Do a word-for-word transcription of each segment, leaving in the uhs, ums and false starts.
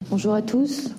Bonjour à tous.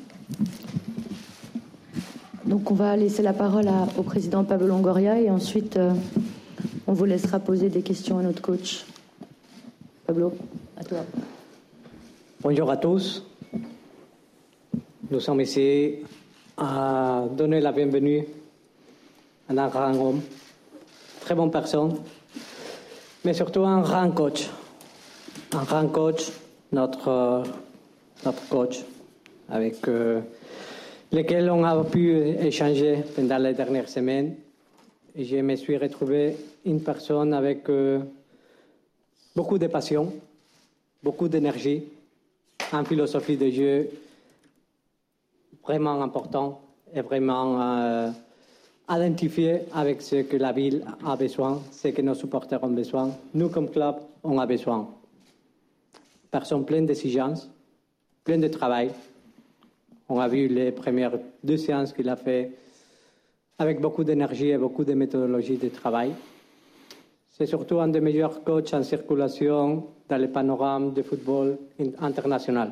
Donc on va laisser la parole à, au président Pablo Longoria et ensuite euh, on vous laissera poser des questions à notre coach. Pablo, à toi. Bonjour à tous. Nous sommes ici à donner la bienvenue à un grand homme, très bonne personne, mais surtout un grand coach. Un grand coach, notre, notre coach, avec euh, lequel on a pu échanger pendant les dernières semaines. Et je me suis retrouvé une personne avec euh, beaucoup de passion, beaucoup d'énergie, une philosophie de jeu vraiment important et vraiment euh, identifié avec ce que la ville a besoin, ce que nos supporters ont besoin. Nous, comme club, on a besoin. Personne pleine d'exigences, pleine de travail. On a vu les premières deux séances qu'il a fait avec beaucoup d'énergie et beaucoup de méthodologie de travail. C'est surtout un des meilleurs coachs en circulation dans le panorama du football international.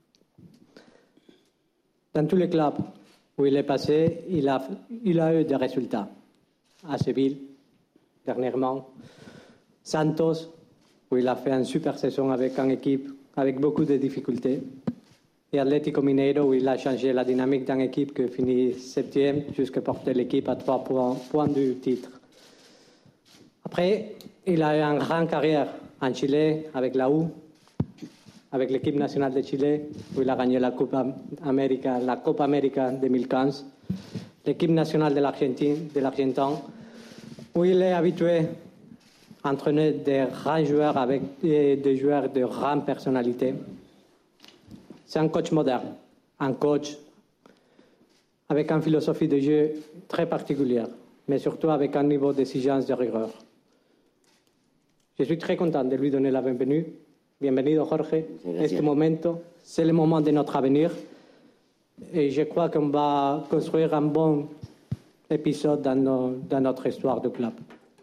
Dans tous les clubs où il est passé, il a, il a eu des résultats. À Séville, dernièrement. Santos, où il a fait une super saison avec une équipe avec beaucoup de difficultés. Et Atlético Mineiro, où il a changé la dynamique d'une équipe qui finit septième jusqu'à porter l'équipe à trois points, points du titre. Après, il a eu une grande carrière en Chili avec la U, avec l'équipe nationale de Chili, où il a gagné la Copa América, la Copa América deux mille quinze, l'équipe nationale de l'Argentine, de l'Argentin, où il est habitué à entraîner des grands joueurs avec des, des joueurs de grande personnalité. C'est un coach moderne, un coach avec une philosophie de jeu très particulière, mais surtout avec un niveau d'exigence de rigueur. Je suis très content de lui donner la bienvenue. Bienvenido, Jorge. Este momento, c'est le moment de notre avenir. Et je crois qu'on va construire un bon épisode dans, nos, dans notre histoire de club.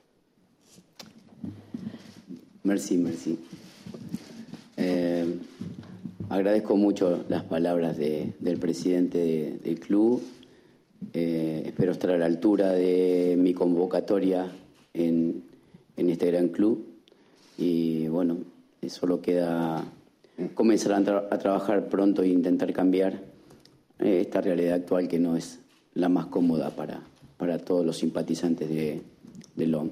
Merci, merci. Eh, agradezco mucho las palabras de, del presidente de, del club. Eh, espero estar a la altura de mi convocatoria en, en este gran club. Y bueno, solo queda comenzar a, tra- a trabajar pronto e intentar cambiar eh, esta realidad actual que no es la más cómoda para, para todos los simpatizantes de, de l'O M.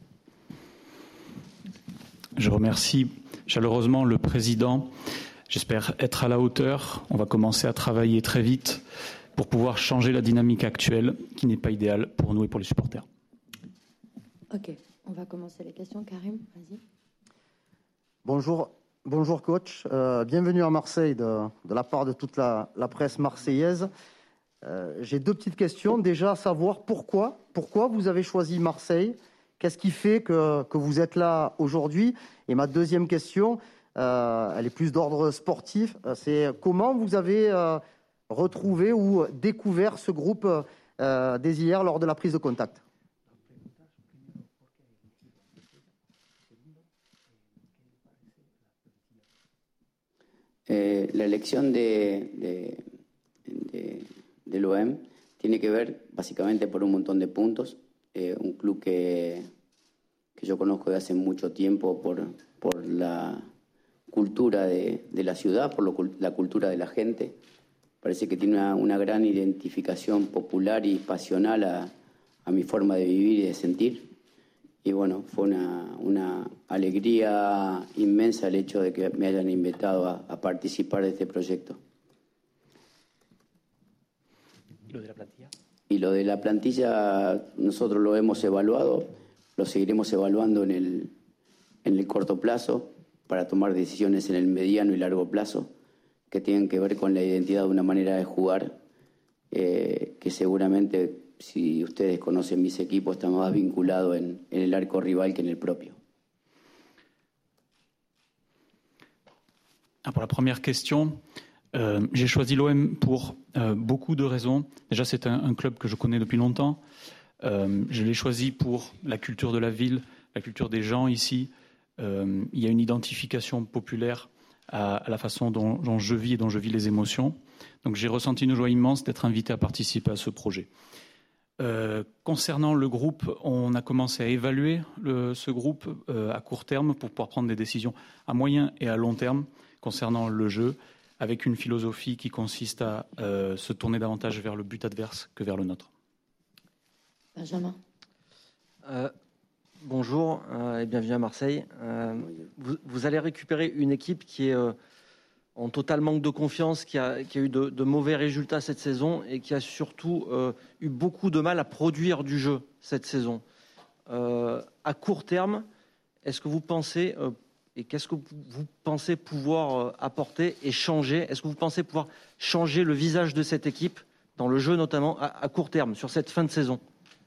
Je remercie chaleureusement le président. J'espère être à la hauteur. On va commencer à travailler très vite pour pouvoir changer la dynamique actuelle qui n'est pas idéale pour nous et pour les supporters. Ok, on va commencer les questions. Karim, vas-y. Bonjour, bonjour coach. Euh, bienvenue à Marseille de, de la part de toute la, la presse marseillaise. Euh, j'ai deux petites questions. Déjà, savoir pourquoi, pourquoi vous avez choisi Marseille. Qu'est-ce qui fait que, que vous êtes là aujourd'hui? Et ma deuxième question, euh, elle est plus d'ordre sportif. C'est comment vous avez euh, retrouvé ou découvert ce groupe euh, des hier lors de la prise de contact? Eh, la elección de, de, de, del O M tiene que ver básicamente por un montón de puntos. Eh, un club que, que yo conozco de hace mucho tiempo por, por la cultura de, de la ciudad, por lo, la cultura de la gente. Parece que tiene una, una gran identificación popular y pasional a, a mi forma de vivir y de sentir. Y bueno, fue una, una alegría inmensa el hecho de que me hayan invitado a, a participar de este proyecto. ¿Y lo de la plantilla? Y lo de la plantilla nosotros lo hemos evaluado, lo seguiremos evaluando en el, en el corto plazo para tomar decisiones en el mediano y largo plazo que tienen que ver con la identidad de una manera de jugar eh, que seguramente, si ustedes conocen mis equipos, está más vinculado en, en el arco rival que en el propio. Ah, pour la première question, euh, j'ai choisi l'O M pour euh, beaucoup de raisons. Déjà, c'est un, un club que je connais depuis longtemps. Euh, je l'ai choisi pour la culture de la ville, la culture des gens ici. Euh, il y a une identification populaire à, à la façon dont, dont je vis et dont je vis les émotions. Donc j'ai ressenti une joie immense d'être invité à participer à ce projet. Euh, concernant le groupe, on a commencé à évaluer le, ce groupe euh, à court terme pour pouvoir prendre des décisions à moyen et à long terme concernant le jeu, avec une philosophie qui consiste à euh, se tourner davantage vers le but adverse que vers le nôtre. Benjamin. Euh, bonjour euh, et bienvenue à Marseille. Euh, vous, vous allez récupérer une équipe qui est euh, en total manque de confiance, qui a, qui a eu de, de mauvais résultats cette saison et qui a surtout euh, eu beaucoup de mal à produire du jeu cette saison. Euh, à court terme, est-ce que vous pensez euh, et qu'est-ce que vous pensez pouvoir euh, apporter et changer? Est-ce que vous pensez pouvoir changer le visage de cette équipe dans le jeu, notamment à, à court terme, sur cette fin de saison?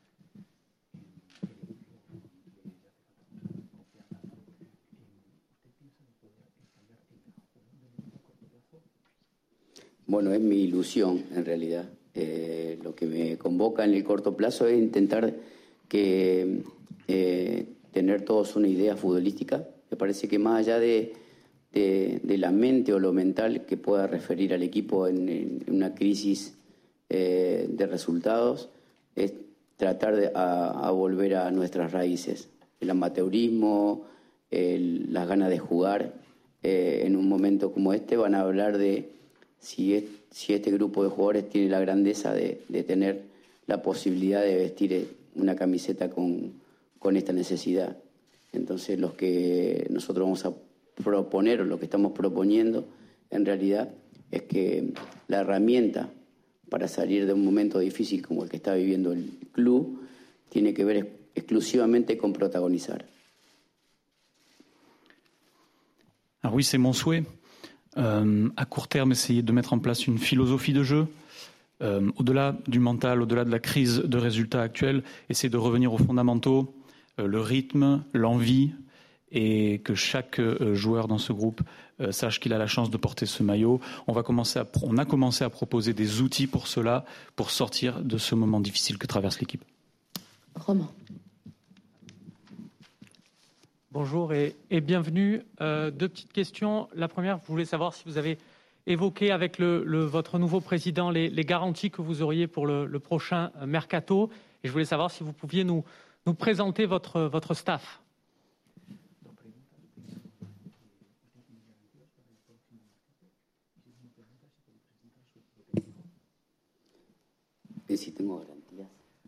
Bueno, es mi ilusión en realidad. Eh, lo que me convoca en el corto plazo es intentar que eh, tener todos una idea futbolística. Me parece que más allá de, de, de la mente o lo mental que pueda referir al equipo en, en una crisis eh, de resultados, es tratar de a, a volver a nuestras raíces. El amateurismo, el, las ganas de jugar. Eh, en un momento como este van a hablar de si, es, si este grupo de jugadores tiene la grandeza de, de tener la posibilidad de vestir una camiseta con, con esta necesidad. Entonces, los que nosotros vamos a proponer, o lo que estamos proponiendo, en realidad, es que la herramienta para salir de un momento difícil como el que está viviendo el club tiene que ver exclusivamente con protagonizar. Alors oui, c'est mon souhait. Euh, à court terme, essayer de mettre en place une philosophie de jeu. Euh, au-delà du mental, au-delà de la crise de résultats actuels, essayer de revenir aux fondamentaux, euh, le rythme, l'envie, et que chaque euh, joueur dans ce groupe euh, sache qu'il a la chance de porter ce maillot. On, va commencer à, on a commencé à proposer des outils pour cela, pour sortir de ce moment difficile que traverse l'équipe. Romain. Bonjour et, et bienvenue. Euh, deux petites questions. La première, je voulais savoir si vous avez évoqué avec le, le, votre nouveau président les, les garanties que vous auriez pour le, le prochain mercato. Et je voulais savoir si vous pouviez nous, nous présenter votre, votre staff. Que si tengo garantías.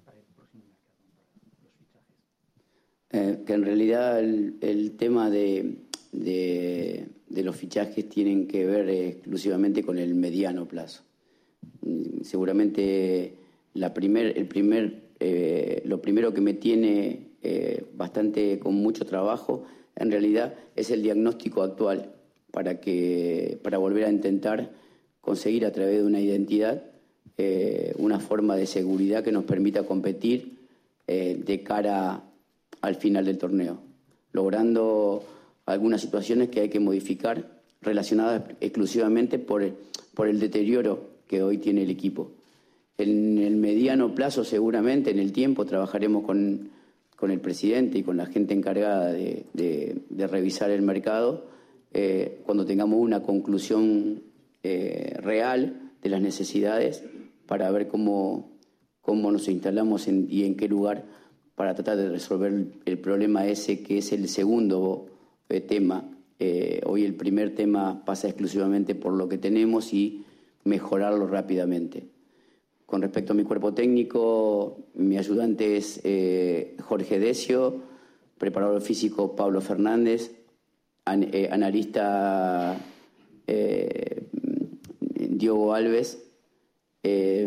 Eh, que en realidad el, el tema de, de, de los fichajes tienen que ver exclusivamente con el mediano plazo. Seguramente la primer, el primer, eh, lo primero que me tiene eh, bastante con mucho trabajo en realidad es el diagnóstico actual para, que, para volver a intentar conseguir a través de una identidad eh, una forma de seguridad que nos permita competir eh, de cara a al final del torneo, logrando algunas situaciones que hay que modificar relacionadas exclusivamente por el, por el deterioro que hoy tiene el equipo. En el mediano plazo, seguramente, en el tiempo, trabajaremos con, con el presidente y con la gente encargada de, de, de revisar el mercado eh, cuando tengamos una conclusión eh, real de las necesidades para ver cómo, cómo nos instalamos en, y en qué lugar para tratar de resolver el problema ese que es el segundo eh, tema. Eh, hoy el primer tema pasa exclusivamente por lo que tenemos y mejorarlo rápidamente. Con respecto a mi cuerpo técnico, mi ayudante es eh, Jorge Decio, preparador físico Pablo Fernández, an, eh, analista eh, Diogo Alves, eh,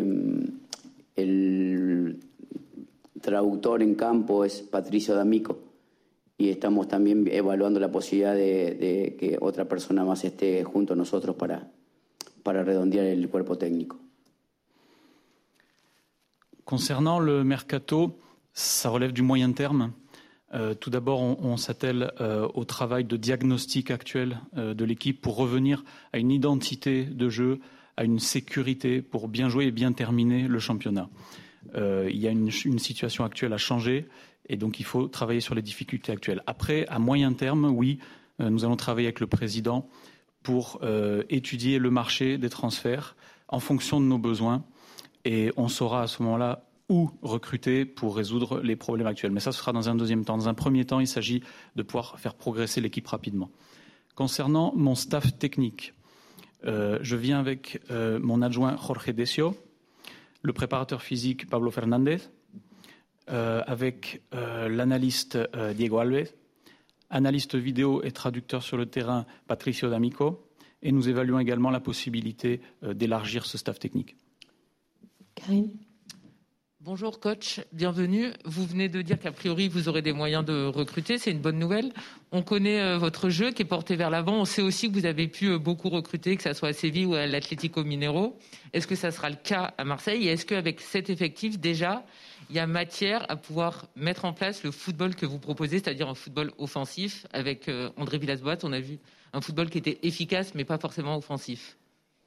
el traductor en campo es Patricio D'Amico y estamos también evaluando la posibilidad de, de que otra persona más esté junto a nosotros para, para redondear el cuerpo técnico. Concernant le mercato, ça relève du moyen terme. Euh, tout d'abord, on, on s'attelle euh, au travail de diagnostic actuel euh, de l'équipe pour revenir à une identité de jeu, à une sécurité pour bien jouer et bien terminer le championnat. Euh, il y a une, une situation actuelle à changer et donc il faut travailler sur les difficultés actuelles. Après, à moyen terme, oui, euh, nous allons travailler avec le président pour euh, étudier le marché des transferts en fonction de nos besoins et on saura à ce moment-là où recruter pour résoudre les problèmes actuels. Mais ça, ce sera dans un deuxième temps. Dans un premier temps, il s'agit de pouvoir faire progresser l'équipe rapidement. Concernant mon staff technique, euh, je viens avec euh, mon adjoint Jorge Decio, le préparateur physique Pablo Fernandez, euh, avec euh, l'analyste euh, Diego Alves, analyste vidéo et traducteur sur le terrain Patricio D'Amico, et nous évaluons également la possibilité euh, d'élargir ce staff technique. Karine ? Bonjour coach, bienvenue. Vous venez de dire qu'a priori vous aurez des moyens de recruter, c'est une bonne nouvelle. On connaît euh, votre jeu qui est porté vers l'avant. On sait aussi que vous avez pu euh, beaucoup recruter, que ce soit à Séville ou à l'Atlético Mineiro. Est-ce que ça sera le cas à Marseille? Et est-ce qu'avec cet effectif déjà, il y a matière à pouvoir mettre en place le football que vous proposez, c'est-à-dire un football offensif? Avec euh, André Villas-Boas, on a vu un football qui était efficace mais pas forcément offensif.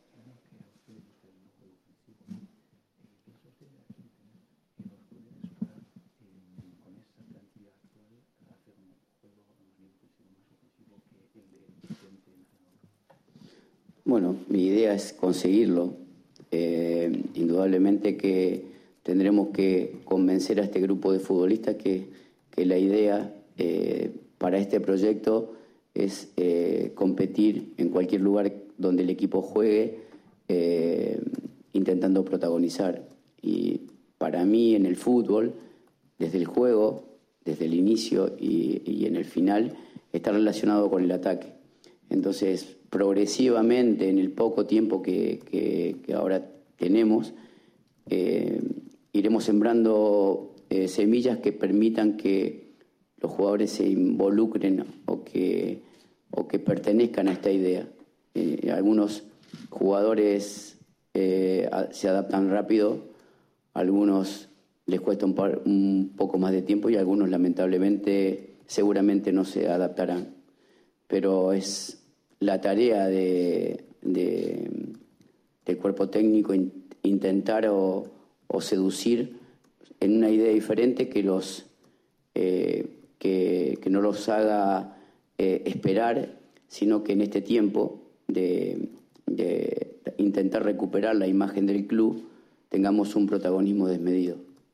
Bueno, mi idea es conseguirlo. Eh, indudablemente que tendremos que convencer a este grupo de futbolistas que, que la idea eh, para este proyecto es eh, competir en cualquier lugar donde el equipo juegue, eh, intentando protagonizar. Y para mí en el fútbol, desde el juego, desde el inicio y, y en el final, está relacionado con el ataque. Entonces, progresivamente, en el poco tiempo que, que, que ahora tenemos, eh, iremos sembrando eh, semillas que permitan que los jugadores se involucren o que, o que pertenezcan a esta idea. Eh, algunos jugadores eh, a, se adaptan rápido, algunos les cuesta un, par, un poco más de tiempo y algunos lamentablemente seguramente no se adaptarán. Pero es la tarea de, de, del cuerpo técnico in, intentar o, o seducir en una idea diferente que, los, eh, que, que no los haga eh, esperar, sino que en este tiempo de, de intentar recuperar la imagen del club tengamos un protagonismo desmedido.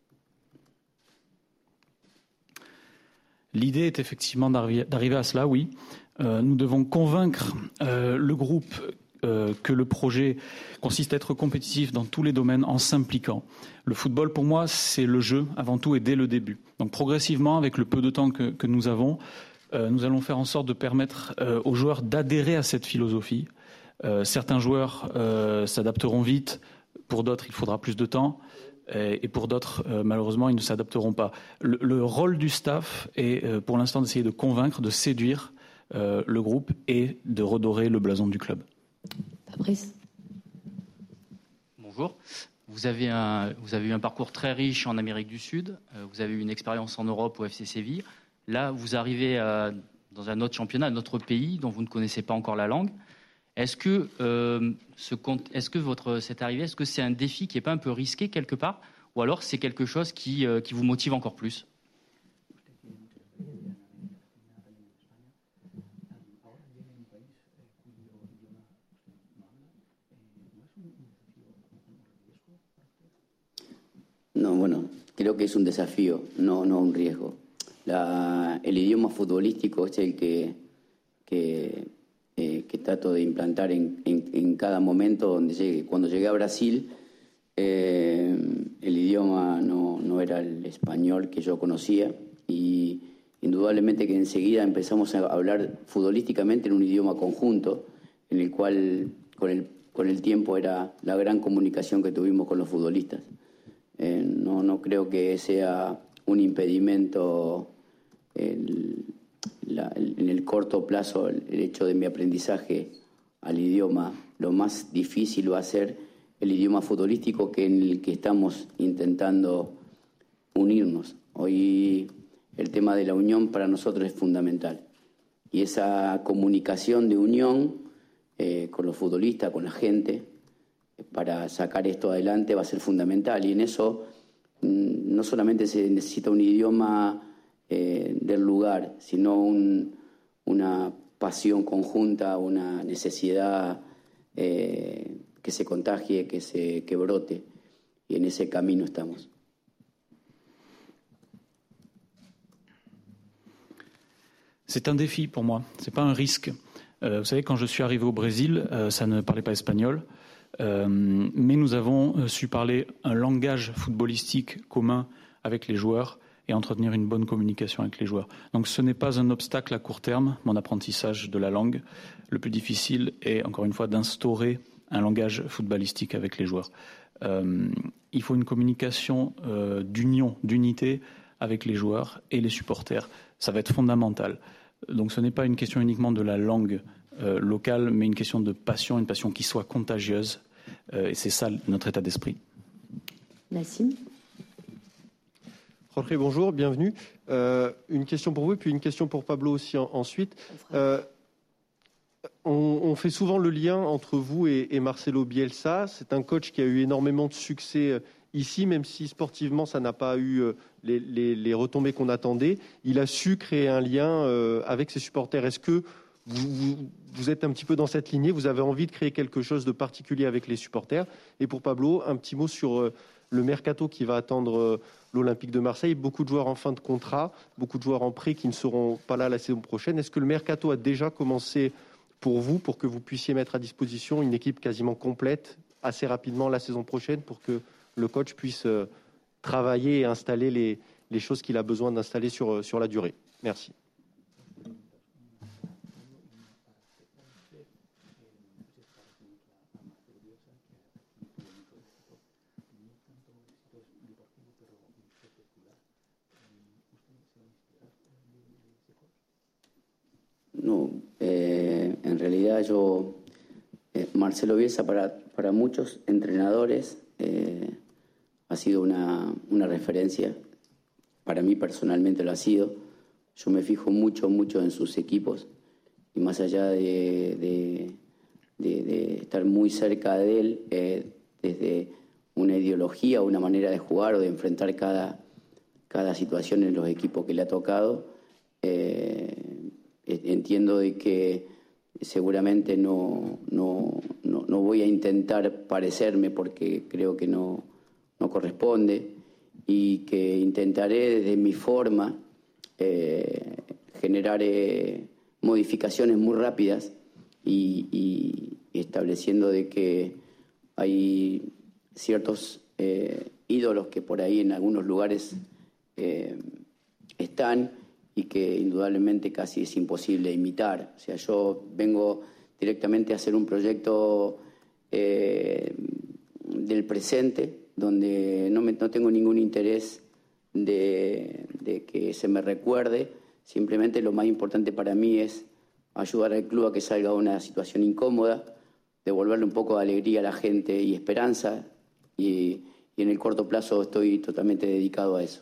L'idée est effectivement d'arriver à cela, oui. Euh, nous devons convaincre euh, le groupe euh, que le projet consiste à être compétitif dans tous les domaines en s'impliquant. Le football, pour moi, c'est le jeu avant tout et dès le début. Donc progressivement, avec le peu de temps que, que nous avons, euh, nous allons faire en sorte de permettre euh, aux joueurs d'adhérer à cette philosophie. Euh, certains joueurs euh, s'adapteront vite, pour d'autres, il faudra plus de temps. Et pour d'autres, euh, malheureusement, ils ne s'adapteront pas. Le, le rôle du staff est, euh, pour l'instant, d'essayer de convaincre, de séduire euh, le groupe et de redorer le blason du club. Fabrice. Bonjour. Vous avez, un, vous avez eu un parcours très riche en Amérique du Sud. Euh, vous avez eu une expérience en Europe au F C Séville. Là, vous arrivez à, dans un autre championnat, un autre pays dont vous ne connaissez pas encore la langue. Est-ce que, euh, ce, est-ce que votre, cette arrivée, est-ce que c'est un défi qui n'est pas un peu risqué quelque part, ou alors c'est quelque chose qui, euh, qui vous motive encore plus? No, bueno, creo que es un desafío, no, no un riesgo. La, el idioma futbolístico es el que... que Eh, que trato de implantar en, en, en cada momento donde llegue. Cuando llegué a Brasil, eh, el idioma no, no era el español que yo conocía y indudablemente que enseguida empezamos a hablar futbolísticamente en un idioma conjunto, en el cual con el, con el tiempo era la gran comunicación que tuvimos con los futbolistas. Eh, no, no creo que sea un impedimento el, La, en el corto plazo el, el hecho de mi aprendizaje al idioma. Lo más difícil va a ser el idioma futbolístico que en el que estamos intentando unirnos. Hoy el tema de la unión para nosotros es fundamental y esa comunicación de unión eh, con los futbolistas, con la gente, para sacar esto adelante va a ser fundamental y en eso mmm, no solamente se necesita un idioma Eh, del lugar, sino un, una pasión conjunta, una necesidad eh, que se contagie, que, se, que brote. Y en ese camino estamos. C'est un défi pour moi, ce n'est pas un risque. Euh, vous savez, quand je suis arrivé au Brésil, euh, ça ne parlait pas espagnol, euh, mais nous avons su parler un langage footballistique commun avec les joueurs et entretenir une bonne communication avec les joueurs. Donc ce n'est pas un obstacle à court terme, mon apprentissage de la langue. Le plus difficile est, encore une fois, d'instaurer un langage footballistique avec les joueurs. Euh, il faut une communication euh, d'union, d'unité avec les joueurs et les supporters. Ça va être fondamental. Donc ce n'est pas une question uniquement de la langue euh, locale, mais une question de passion, une passion qui soit contagieuse. Euh, et c'est ça notre état d'esprit. Nassim. Jorge, bonjour, bienvenue. Euh, une question pour vous et puis une question pour Pablo aussi en, ensuite. Euh, on, on fait souvent le lien entre vous et, et Marcelo Bielsa. C'est un coach qui a eu énormément de succès ici, même si sportivement ça n'a pas eu les, les, les retombées qu'on attendait. Il a su créer un lien euh, avec ses supporters. Est-ce que vous, vous, vous êtes un petit peu dans cette lignée? Vous avez envie de créer quelque chose de particulier avec les supporters? Et pour Pablo, un petit mot sur euh, le mercato qui va attendre euh, l'Olympique de Marseille. Beaucoup de joueurs en fin de contrat, beaucoup de joueurs en prêt qui ne seront pas là la saison prochaine. Est-ce que le mercato a déjà commencé pour vous, pour que vous puissiez mettre à disposition une équipe quasiment complète assez rapidement la saison prochaine pour que le coach puisse euh, travailler et installer les, les choses qu'il a besoin d'installer sur, sur la durée? Merci. No, eh, en realidad yo, eh, Marcelo Bielsa para, para muchos entrenadores eh, ha sido una, una referencia, para mí personalmente lo ha sido. Yo me fijo mucho, mucho en sus equipos y más allá de, de, de, de estar muy cerca de él, eh, desde una ideología, una manera de jugar o de enfrentar cada, cada situación en los equipos que le ha tocado, eh, entiendo de que seguramente no, no, no, no voy a intentar parecerme porque creo que no, no corresponde y que intentaré desde mi forma eh, generar eh, modificaciones muy rápidas y, y, y estableciendo de que hay ciertos eh, ídolos que por ahí en algunos lugares eh, están y que indudablemente casi es imposible imitar. O sea, yo vengo directamente a hacer un proyecto eh, del presente, donde no, me, no tengo ningún interés de, de que se me recuerde. Simplemente lo más importante para mí es ayudar al club a que salga de una situación incómoda, devolverle un poco de alegría a la gente y esperanza, y, y en el corto plazo estoy totalmente dedicado a eso.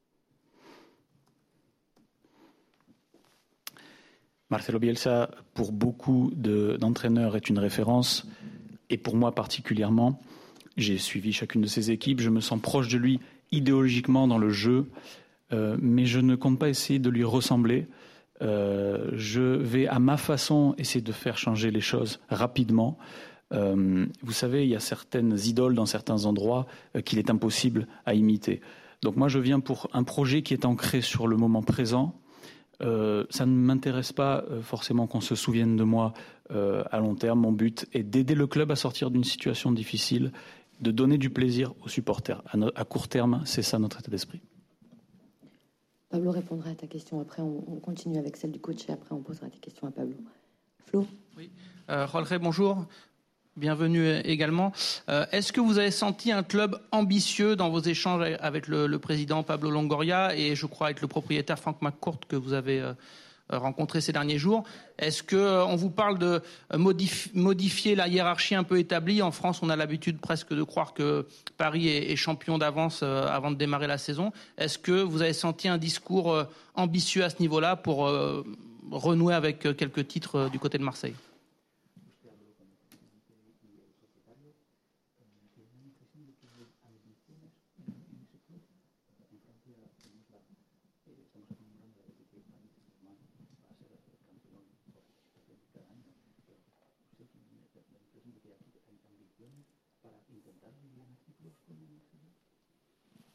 Marcelo Bielsa, pour beaucoup de, d'entraîneurs, est une référence, et pour moi particulièrement. J'ai suivi chacune de ses équipes, je me sens proche de lui idéologiquement dans le jeu, euh, mais je ne compte pas essayer de lui ressembler. Euh, je vais à ma façon essayer de faire changer les choses rapidement. Euh, vous savez, il y a certaines idoles dans certains endroits euh, qu'il est impossible à imiter. Donc moi, je viens pour un projet qui est ancré sur le moment présent. Euh, ça ne m'intéresse pas euh, forcément qu'on se souvienne de moi euh, à long terme. Mon but est d'aider le club à sortir d'une situation difficile, de donner du plaisir aux supporters. À, no- à court terme, c'est ça notre état d'esprit. Pablo répondra à ta question. Après, on, on continue avec celle du coach et après, on posera tes questions à Pablo. Flo. Oui. Euh, Jorge, bonjour. Bienvenue également. Euh, est-ce que vous avez senti un club ambitieux dans vos échanges avec le, le président Pablo Longoria et je crois avec le propriétaire Frank McCourt que vous avez euh, rencontré ces derniers jours? Est-ce qu'on euh, vous parle de modif- modifier la hiérarchie un peu établie? En France, on a l'habitude presque de croire que Paris est, est champion d'avance euh, avant de démarrer la saison. Est-ce que vous avez senti un discours euh, ambitieux à ce niveau-là pour euh, renouer avec euh, quelques titres euh, du côté de Marseille?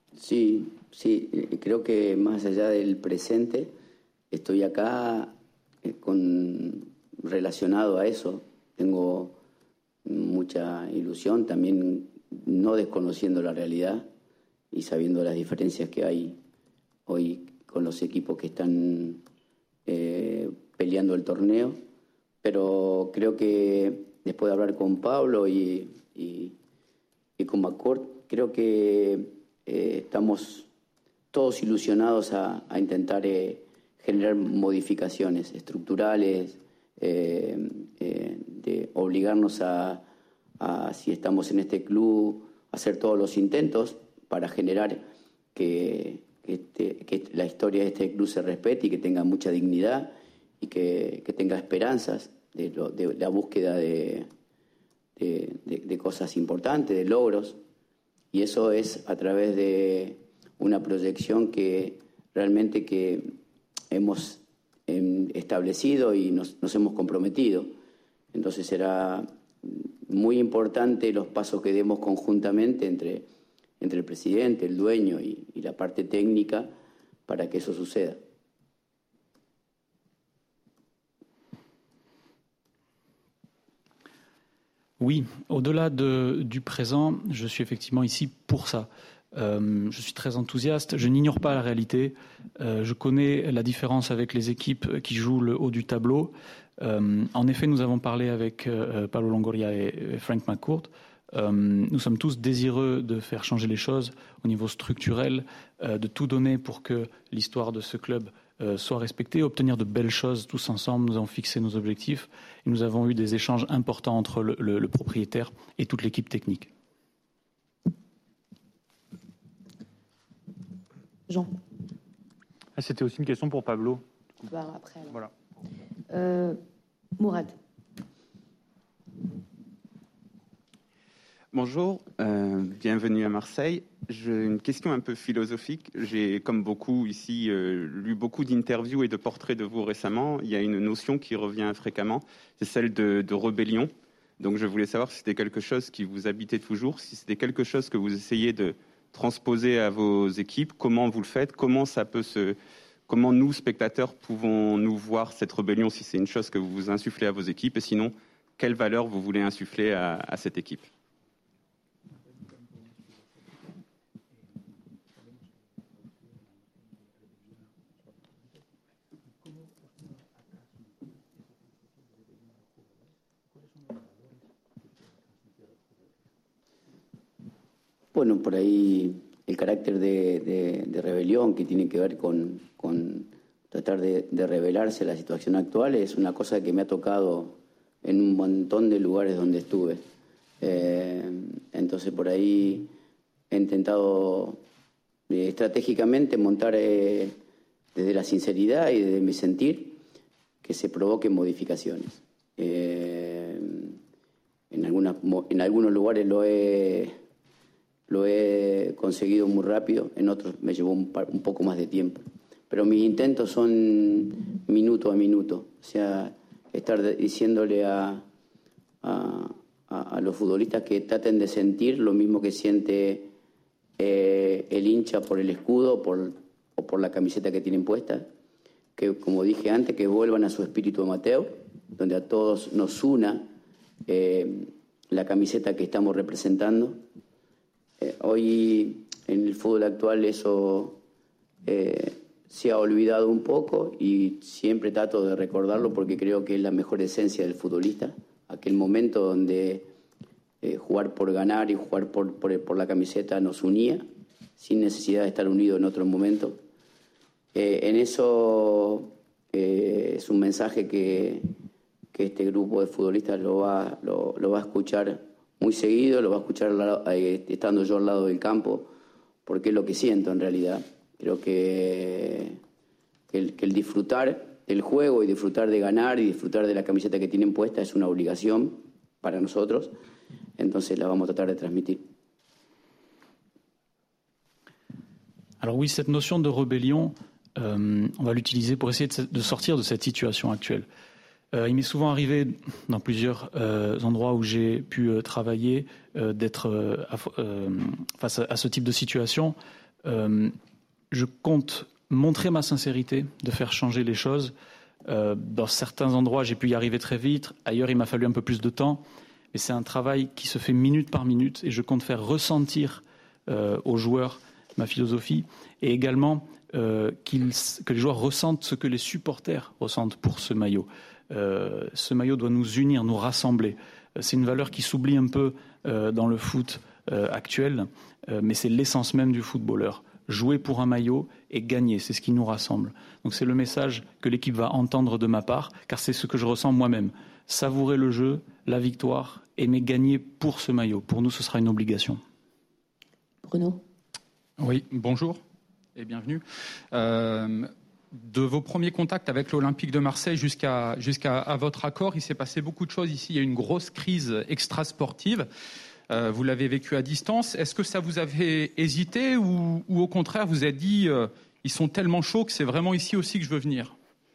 Sí, sí, creo que más allá del presente, estoy acá con, relacionado a eso. Tengo mucha ilusión, también no desconociendo la realidad y sabiendo las diferencias que hay hoy con los equipos que están eh, peleando el torneo. Pero creo que después de hablar con Pablo y, y, y con McCourt, creo que eh, estamos todos ilusionados a, a intentar eh, generar modificaciones estructurales, eh, eh, de obligarnos a, a, si estamos en este club, hacer todos los intentos para generar que, que, este, que la historia de este club se respete y que tenga mucha dignidad y que, que tenga esperanzas de, lo, de la búsqueda de, de, de, de cosas importantes, de logros. Y eso es a través de una proyección que realmente que hemos eh, establecido y nos, nos hemos comprometido. Entonces será muy importante los pasos que demos conjuntamente entre, entre el presidente, el dueño y, y la parte técnica para que eso suceda. Oui, au-delà de, du présent, je suis effectivement ici pour ça. Euh, je suis très enthousiaste, je n'ignore pas la réalité, euh, je connais la différence avec les équipes qui jouent le haut du tableau. Euh, en effet, nous avons parlé avec euh, Pablo Longoria et, et Frank McCourt. Euh, nous sommes tous désireux de faire changer les choses au niveau structurel, euh, de tout donner pour que l'histoire de ce club euh, soit respectée, obtenir de belles choses tous ensemble. Nous avons fixé nos objectifs et nous avons eu des échanges importants entre le, le, le propriétaire et toute l'équipe technique. Jean. Ah, c'était aussi une question pour Pablo. Bah, après, alors. Voilà. Euh, Mourad. Bonjour, euh, bienvenue à Marseille. J'ai une question un peu philosophique. J'ai, comme beaucoup ici, euh, lu beaucoup d'interviews et de portraits de vous récemment. Il y a une notion qui revient fréquemment, c'est celle de, de rébellion. Donc je voulais savoir si c'était quelque chose qui vous habitait toujours, si c'était quelque chose que vous essayez de transposer à vos équipes, comment vous le faites, comment ça peut se, comment nous, spectateurs, pouvons-nous voir cette rébellion, si c'est une chose que vous insufflez à vos équipes, et sinon, quelle valeur vous voulez insuffler à, à cette équipe? Bueno, por ahí el carácter de, de, de rebelión que tiene que ver con, con tratar de, de rebelarse a la situación actual es una cosa que me ha tocado en un montón de lugares donde estuve. Eh, entonces por ahí he intentado eh, estratégicamente montar eh, desde la sinceridad y desde mi sentir que se provoquen modificaciones. Eh, en, algunas, en algunos lugares lo he... Lo he conseguido muy rápido, en otros me llevó un, un poco más de tiempo. Pero mis intentos son minuto a minuto. O sea, estar diciéndole a, a, a los futbolistas que traten de sentir lo mismo que siente eh, el hincha por el escudo por, o por la camiseta que tienen puesta. Que, como dije antes, que vuelvan a su espíritu amateur, donde a todos nos una eh, la camiseta que estamos representando. Eh, hoy en el fútbol actual eso eh, se ha olvidado un poco y siempre trato de recordarlo porque creo que es la mejor esencia del futbolista, aquel momento donde eh, jugar por ganar y jugar por, por, por la camiseta nos unía sin necesidad de estar unidos en otro momento. Eh, en eso eh, es un mensaje que, que este grupo de futbolistas lo va, lo, lo va a escuchar muy seguido, lo va a escuchar eh, estando yo al lado del campo, porque es lo que siento en realidad. Creo que, que, el, que el disfrutar del juego y disfrutar de ganar y disfrutar de la camiseta que tienen puesta es una obligación para nosotros, entonces la vamos a tratar de transmitir. Alors oui, cette notion de rébellion, euh, on va l'utiliser pour essayer de, de sortir de cette situation actuelle. Euh, il m'est souvent arrivé, dans plusieurs euh, endroits où j'ai pu euh, travailler, euh, d'être euh, à, euh, face à, à ce type de situation. Euh, je compte montrer ma sincérité, de faire changer les choses. Euh, dans certains endroits, j'ai pu y arriver très vite. Ailleurs, il m'a fallu un peu plus de temps. Mais c'est un travail qui se fait minute par minute et je compte faire ressentir euh, aux joueurs ma philosophie et également euh, qu'ils, que les joueurs ressentent ce que les supporters ressentent pour ce maillot. Euh, ce maillot doit nous unir, nous rassembler. C'est une valeur qui s'oublie un peu euh, dans le foot euh, actuel, euh, mais c'est l'essence même du footballeur. Jouer pour un maillot et gagner, c'est ce qui nous rassemble. Donc c'est le message que l'équipe va entendre de ma part, car c'est ce que je ressens moi-même. Savourer le jeu, la victoire, aimer gagner pour ce maillot. Pour nous, ce sera une obligation. Bruno ? Oui, bonjour et bienvenue. Euh, de vos premiers contacts avec l'Olympique de Marseille jusqu'à, jusqu'à à votre accord, il s'est passé beaucoup de choses ici. Il y a eu une grosse crise extra-sportive. Euh, vous l'avez vécu à distance. Est-ce que ça vous avait hésité ou, ou au contraire, vous avez dit euh, ils sont tellement chauds que c'est vraiment ici aussi que je veux venir ?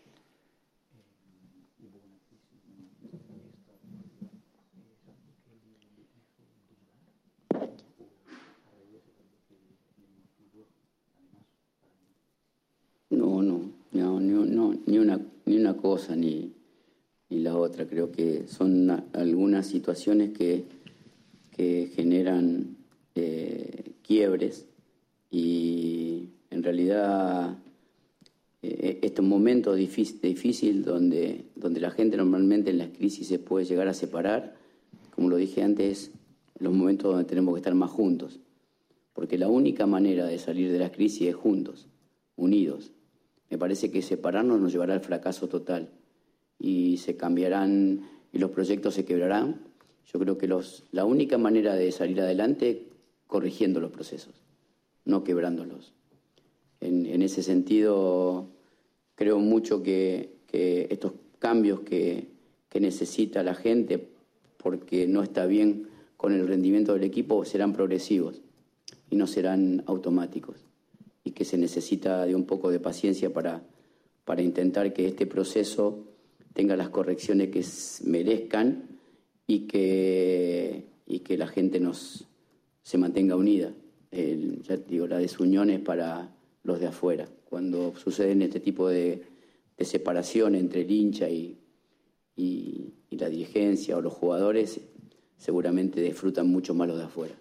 No, no, no, no, no, ni una, ni una cosa ni, ni la otra. Creo que son algunas situaciones que, que generan eh, quiebres y en realidad eh, estos momentos difíciles difícil donde, donde la gente normalmente en las crisis se puede llegar a separar, como lo dije antes, los momentos donde tenemos que estar más juntos, porque la única manera de salir de las crisis es juntos, unidos. Me parece que separarnos nos llevará al fracaso total y se cambiarán y los proyectos se quebrarán. Yo creo que los, la única manera de salir adelante es corrigiendo los procesos, no quebrándolos. En, en ese sentido, creo mucho que, que estos cambios que, que necesita la gente porque no está bien con el rendimiento del equipo serán progresivos y no serán automáticos. Y que se necesita de un poco de paciencia para, para intentar que este proceso tenga las correcciones que merezcan y que, y que la gente nos, se mantenga unida. El, ya digo, la desunión es para los de afuera. Cuando suceden este tipo de, de separación entre el hincha y, y, y la dirigencia o los jugadores, seguramente disfrutan mucho más los de afuera.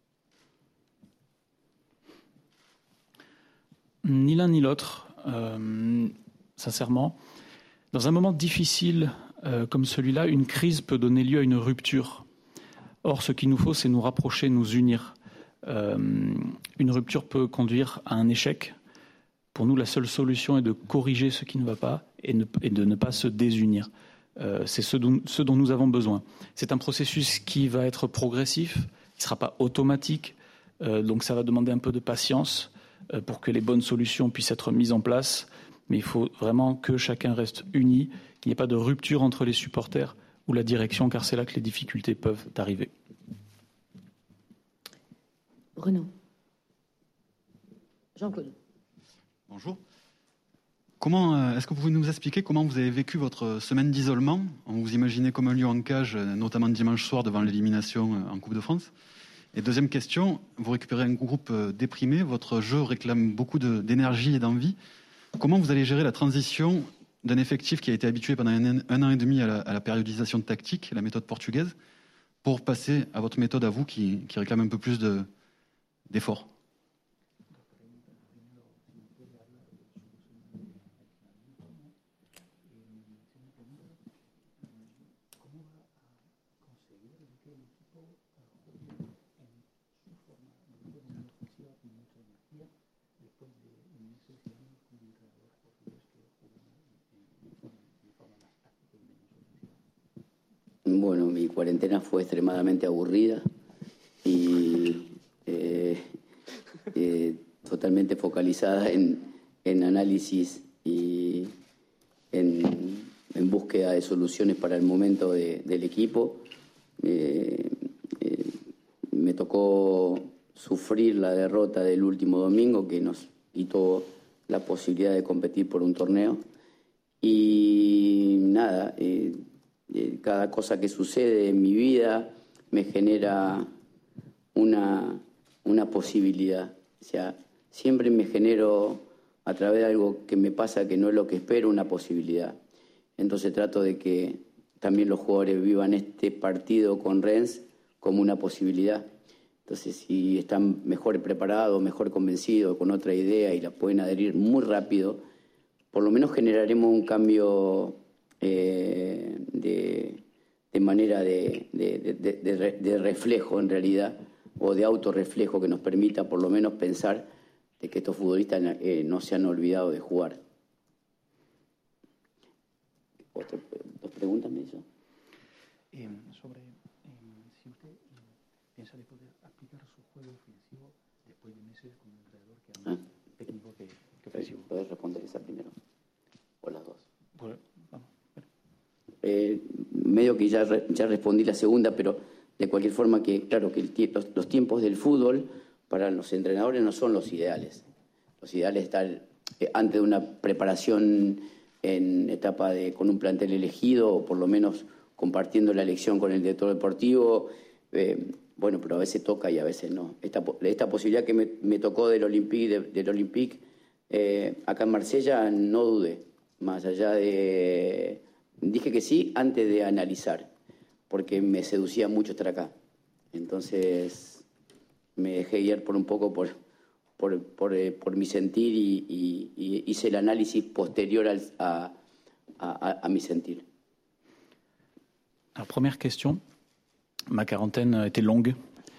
Ni l'un ni l'autre, euh, sincèrement. Dans un moment difficile euh, comme celui-là, une crise peut donner lieu à une rupture. Or, ce qu'il nous faut, c'est nous rapprocher, nous unir. Euh, une rupture peut conduire à un échec. Pour nous, la seule solution est de corriger ce qui ne va pas et, ne, et de ne pas se désunir. Euh, c'est ce dont, ce dont nous avons besoin. C'est un processus qui va être progressif, qui ne sera pas automatique, euh, donc ça va demander un peu de patience pour que les bonnes solutions puissent être mises en place. Mais il faut vraiment que chacun reste uni, qu'il n'y ait pas de rupture entre les supporters ou la direction, car c'est là que les difficultés peuvent arriver. Bruno. Jean-Claude. Bonjour. Comment, est-ce que vous pouvez nous expliquer comment vous avez vécu votre semaine d'isolement ? On vous imaginait comme un lion en cage, notamment dimanche soir devant l'élimination en Coupe de France. Et deuxième question, vous récupérez un groupe déprimé, votre jeu réclame beaucoup de, d'énergie et d'envie. Comment vous allez gérer la transition d'un effectif qui a été habitué pendant un, un an et demi à la, à la périodisation tactique, la méthode portugaise, pour passer à votre méthode à vous qui, qui réclame un peu plus de, d'efforts ? Bueno, mi cuarentena fue extremadamente aburrida y eh, eh, totalmente focalizada en, en análisis y en, en búsqueda de soluciones para el momento de, del equipo. Eh, eh, me tocó sufrir la derrota del último domingo que nos quitó la posibilidad de competir por un torneo y nada, eh, eh, cada cosa que sucede en mi vida me genera una, una posibilidad. O sea, siempre me genero, a través de algo que me pasa que no es lo que espero, una posibilidad. Entonces trato de que también los jugadores vivan este partido con Rennes como una posibilidad. Entonces, si están mejor preparados, mejor convencidos, con otra idea y la pueden adherir muy rápido, por lo menos generaremos un cambio eh, de, de manera de, de, de, de, de reflejo, en realidad, o de autorreflejo que nos permita por lo menos pensar de que estos futbolistas eh, no se han olvidado de jugar. Otra, ¿Dos preguntas me hizo? Eh, sobre eh, si usted eh, piensa de poder aplicar su juego ofensivo después de meses con un entrenador que era más ah. técnico que, que ofensivo. ¿Puedes responder esa primero? ¿O las dos? Pues, vamos. Eh, medio que ya, ya respondí la segunda, pero de cualquier forma que, claro, que el, los, los tiempos del fútbol para los entrenadores no son los ideales. Los ideales están eh, antes de una preparación en etapa de con un plantel elegido o por lo menos compartiendo la elección con el director deportivo. Eh, bueno, pero a veces toca y a veces no. Esta, esta posibilidad que me, me tocó del Olympique, de, del Olympique eh, acá en Marsella, no dudé. Más allá de... Dije que sí antes de analizar, porque me seducía mucho estar acá. Entonces me dejé guiar por un poco por, por, por, eh, por mi sentir y, y, y hice el análisis posterior al, a, a, a mi sentir. Alors, première question. Ma quarantaine a été longue.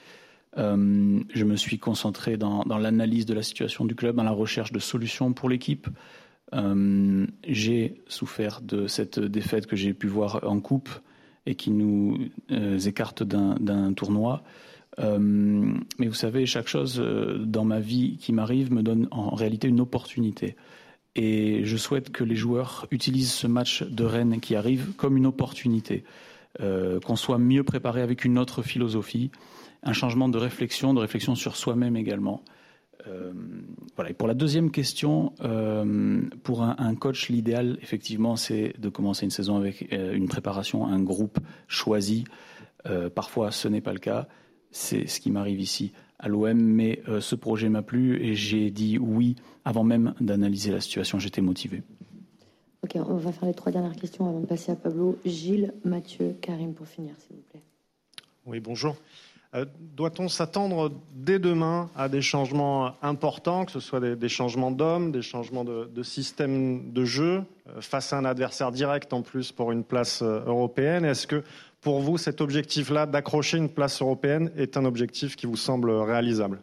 Euh, je me suis concentré dans, dans l'analyse de la situation du club, dans la recherche de solutions pour l'équipe. Euh, j'ai souffert de cette défaite que j'ai pu voir en coupe et qui nous euh, écarte d'un, d'un tournoi. Euh, mais vous savez, chaque chose euh, dans ma vie qui m'arrive me donne en réalité une opportunité. Et je souhaite que les joueurs utilisent ce match de Rennes qui arrive comme une opportunité, euh, qu'on soit mieux préparé avec une autre philosophie, un changement de réflexion, de réflexion sur soi-même également. Euh, voilà. Et pour la deuxième question, euh, pour un, un coach, l'idéal, effectivement, c'est de commencer une saison avec euh, une préparation, un groupe choisi. Euh, parfois, ce n'est pas le cas. C'est ce qui m'arrive ici à l'O M, mais euh, ce projet m'a plu et j'ai dit oui avant même d'analyser la situation. J'étais motivé. Ok, on va faire les trois dernières questions avant de passer à Pablo. Gilles, Mathieu, Karim pour finir, s'il vous plaît. Oui, bonjour. Euh, doit-on s'attendre dès demain à des changements importants, que ce soit des, des changements d'hommes, des changements de, de système de jeu, euh, face à un adversaire direct en plus pour une place euh, européenne? Est-ce que pour vous, cet objectif-là d'accrocher une place européenne est un objectif qui vous semble réalisable?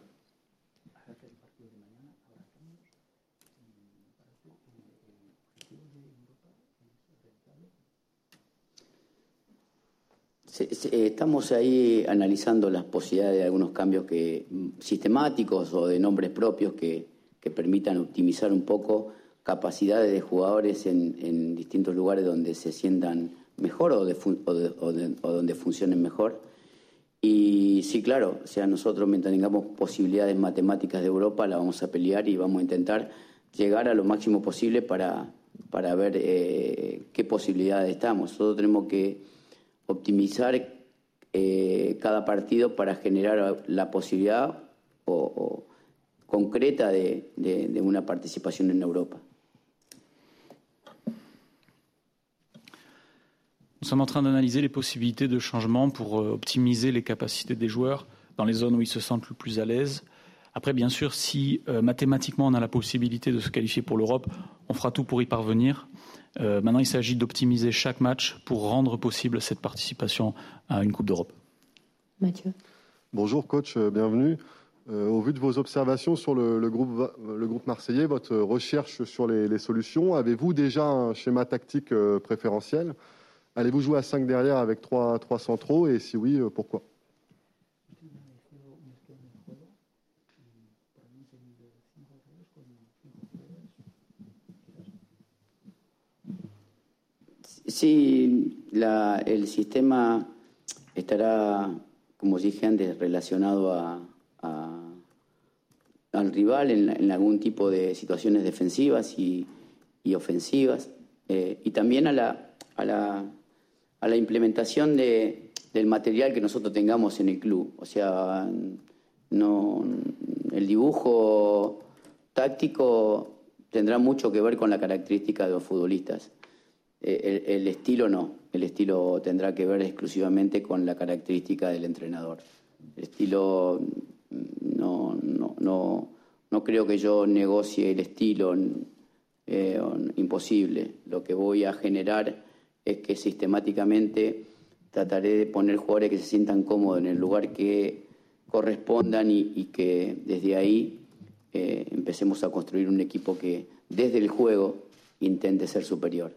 Estamos ahí analizando las posibilidades de algunos cambios que, sistemáticos o de nombres propios que, que permitan optimizar un poco capacidades de jugadores en, en distintos lugares donde se sientan mejor o, de, o, de, o, de, o donde funcionen mejor. Y sí, claro, o sea, nosotros mientras tengamos posibilidades matemáticas de Europa la vamos a pelear y vamos a intentar llegar a lo máximo posible para, para ver eh, qué posibilidades estamos. Nosotros tenemos que optimizar eh, cada partido para generar la posibilidad o, o concreta de, de, de una participación en Europa. Nous sommes en train d'analyser les possibilités de changement pour euh, optimiser les capacités des joueurs dans les zones où ils se sentent le plus à l'aise. Après, bien sûr, si euh, mathématiquement on a la possibilité de se qualifier pour l'Europe, on fera tout pour y parvenir. Euh, maintenant, il s'agit d'optimiser chaque match pour rendre possible cette participation à une Coupe d'Europe. Mathieu. Bonjour coach, bienvenue. Euh, au vu de vos observations sur le, le, groupe, le groupe marseillais, votre recherche sur les, les solutions, avez-vous déjà un schéma tactique euh, préférentiel? Allez-vous jouer à cinq derrière avec trois, trois centraux et si oui, euh, pourquoi? Sí, la, el sistema estará, como dije antes, relacionado a, a, al rival en, en algún tipo de situaciones defensivas y, y ofensivas, eh, y también a la, a la, a la implementación de, del material que nosotros tengamos en el club. O sea, no, el dibujo táctico tendrá mucho que ver con la característica de los futbolistas. El, el estilo no, el estilo tendrá que ver exclusivamente con la característica del entrenador. El estilo, no, no, no, no creo que yo negocie el estilo, eh, imposible. Lo que voy a generar es que sistemáticamente trataré de poner jugadores que se sientan cómodos en el lugar que correspondan y, y que desde ahí eh, empecemos a construir un equipo que desde el juego intente ser superior.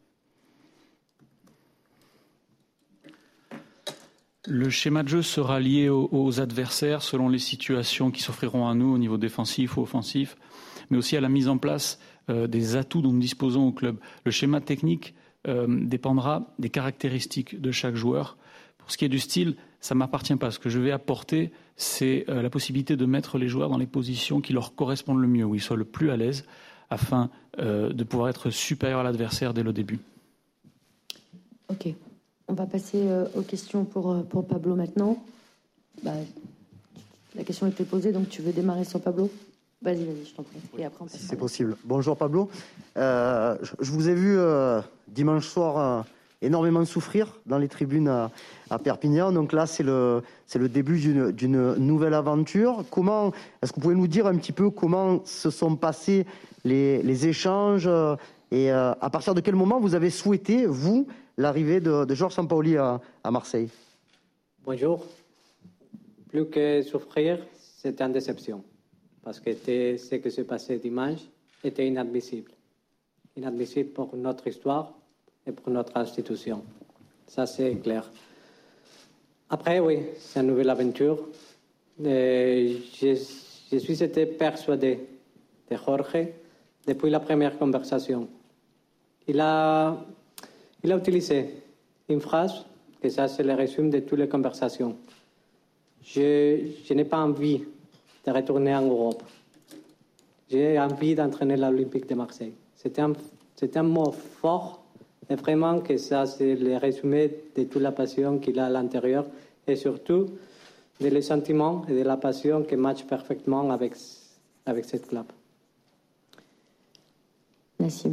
Le schéma de jeu sera lié aux, aux adversaires selon les situations qui s'offriront à nous au niveau défensif ou offensif, mais aussi à la mise en place euh, des atouts dont nous disposons au club. Le schéma technique euh, dépendra des caractéristiques de chaque joueur. Pour ce qui est du style, ça ne m'appartient pas. Ce que je vais apporter, c'est euh, la possibilité de mettre les joueurs dans les positions qui leur correspondent le mieux, où ils soient le plus à l'aise, afin euh, de pouvoir être supérieur à l'adversaire dès le début. Ok. On va passer euh, aux questions pour, euh, pour Pablo maintenant. Bah, la question a été posée, donc tu veux démarrer sur Pablo ? Vas-y, vas-y, je t'en prie. Et après, on passe si c'est possible. Bonjour Pablo. Euh, je, je vous ai vu euh, dimanche soir euh, énormément souffrir dans les tribunes à, à Perpignan. Donc là, c'est le, c'est le début d'une, d'une nouvelle aventure. Comment, est-ce que vous pouvez nous dire un petit peu comment se sont passés les, les échanges euh, et euh, à partir de quel moment vous avez souhaité, vous, l'arrivée de, de Georges Sampaoli à, à Marseille? Bonjour. Plus que souffrir, c'était une déception. Parce que ce qui s'est passé dimanche était inadmissible. Inadmissible pour notre histoire et pour notre institution. Ça, c'est clair. Après, oui, c'est une nouvelle aventure. Et je, je suis été persuadé de Jorge depuis la première conversation. Il a, il a utilisé une phrase, que ça c'est le résumé de toutes les conversations. Je, je n'ai pas envie de retourner en Europe. J'ai envie d'entraîner l'Olympique de Marseille. C'est un, c'est un mot fort, et vraiment que ça c'est le résumé de toute la passion qu'il a à l'intérieur et surtout de les sentiments et de la passion qui matchent parfaitement avec, avec cette club. Nassim.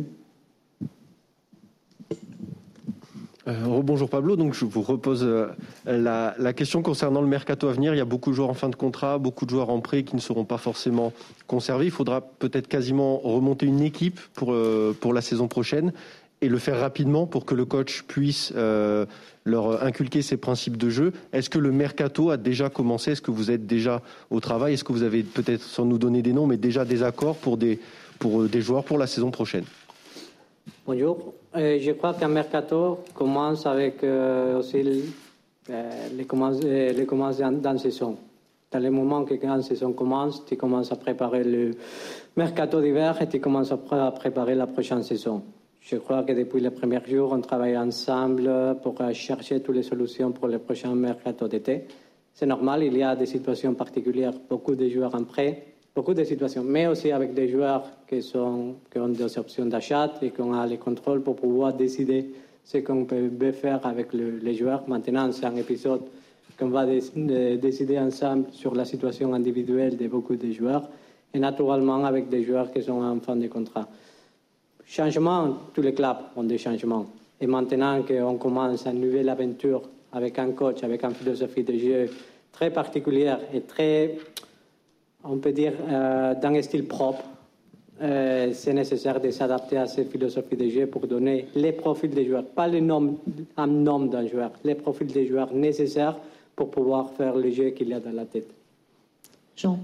Euh, bonjour Pablo, donc je vous repose euh, la, la question concernant le mercato à venir. Il y a beaucoup de joueurs en fin de contrat, beaucoup de joueurs en prêt qui ne seront pas forcément conservés. Il faudra peut-être quasiment remonter une équipe pour, euh, pour la saison prochaine et le faire rapidement pour que le coach puisse euh, leur inculquer ses principes de jeu. Est-ce que le mercato a déjà commencé? Est-ce que vous êtes déjà au travail? Est-ce que vous avez peut-être, sans nous donner des noms, mais déjà des accords pour des, pour des joueurs pour la saison prochaine? Bonjour. Euh, je crois qu'un mercato commence avec euh, aussi euh, les commences, euh, les commences dans, dans la saison. Dans le moment que quand la saison commence, tu commences à préparer le mercato d'hiver et tu commences à, pr- à préparer la prochaine saison. Je crois que depuis les premiers jours, on travaille ensemble pour chercher toutes les solutions pour le prochain mercato d'été. C'est normal, il y a des situations particulières, beaucoup de joueurs en prêt, beaucoup de situations, mais aussi avec des joueurs qui, sont, qui ont des options d'achat et qu'on a les contrôles pour pouvoir décider ce qu'on peut faire avec le, les joueurs. Maintenant, c'est un épisode qu'on va dé, de, décider ensemble sur la situation individuelle de beaucoup de joueurs et naturellement avec des joueurs qui sont en fin de contrat. Changement, tous les clubs ont des changements. Et maintenant qu'on commence une nouvelle aventure avec un coach, avec une philosophie de jeu très particulière et très, on peut dire, euh, dans un style propre, euh, c'est nécessaire de s'adapter à cette philosophie de jeu pour donner les profils des joueurs, pas le nom, un nom d'un joueur, les profils des joueurs nécessaires pour pouvoir faire le jeu qu'il y a dans la tête. Jean.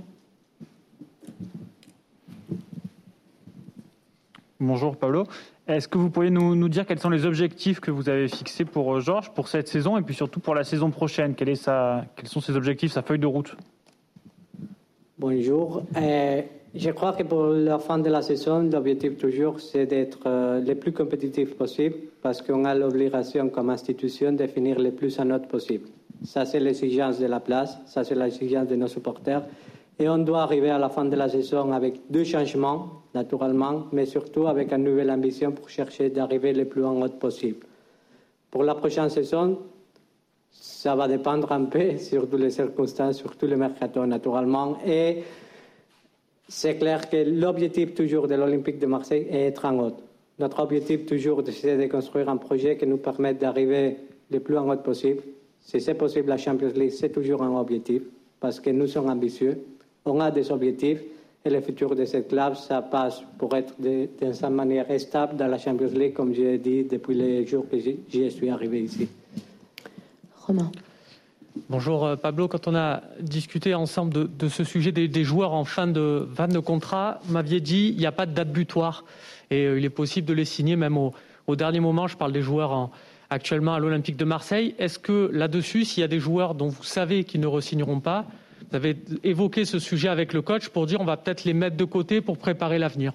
Bonjour Pablo. Est-ce que vous pourriez nous, nous dire quels sont les objectifs que vous avez fixés pour Georges pour cette saison et puis surtout pour la saison prochaine? Quel est sa, quels sont ses objectifs, sa feuille de route? Bonjour. Euh, je crois que pour la fin de la saison, l'objectif toujours, c'est d'être euh, le plus compétitif possible parce qu'on a l'obligation comme institution de finir le plus en note possible. Ça, c'est l'exigence de la place, ça, c'est l'exigence de nos supporters. Et on doit arriver à la fin de la saison avec deux changements, naturellement, mais surtout avec une nouvelle ambition pour chercher d'arriver le plus en haut possible. Pour la prochaine saison, ça va dépendre un peu sur toutes les circonstances, sur tous les mercato, naturellement. Et C'est clair que l'objectif toujours de l'Olympique de Marseille est être en haut. Notre objectif toujours, c'est de construire un projet qui nous permette d'arriver le plus en haut possible. Si c'est possible, la Champions League, c'est toujours un objectif, parce que nous sommes ambitieux. On a des objectifs, et le futur de cette club, ça passe pour être de, de cette manière stable dans la Champions League, comme j'ai dit depuis les jours que j'y suis arrivé ici. Romain. Bonjour Pablo, quand on a discuté ensemble de, de ce sujet des, des joueurs en fin de, fin de contrat, vous m'aviez dit qu'il n'y a pas de date butoir et euh, il est possible de les signer même au, au dernier moment. Je parle des joueurs en, actuellement à l'Olympique de Marseille. Est-ce que là-dessus, s'il y a des joueurs dont vous savez qu'ils ne re-signeront pas, vous avez évoqué ce sujet avec le coach pour dire on va peut-être les mettre de côté pour préparer l'avenir?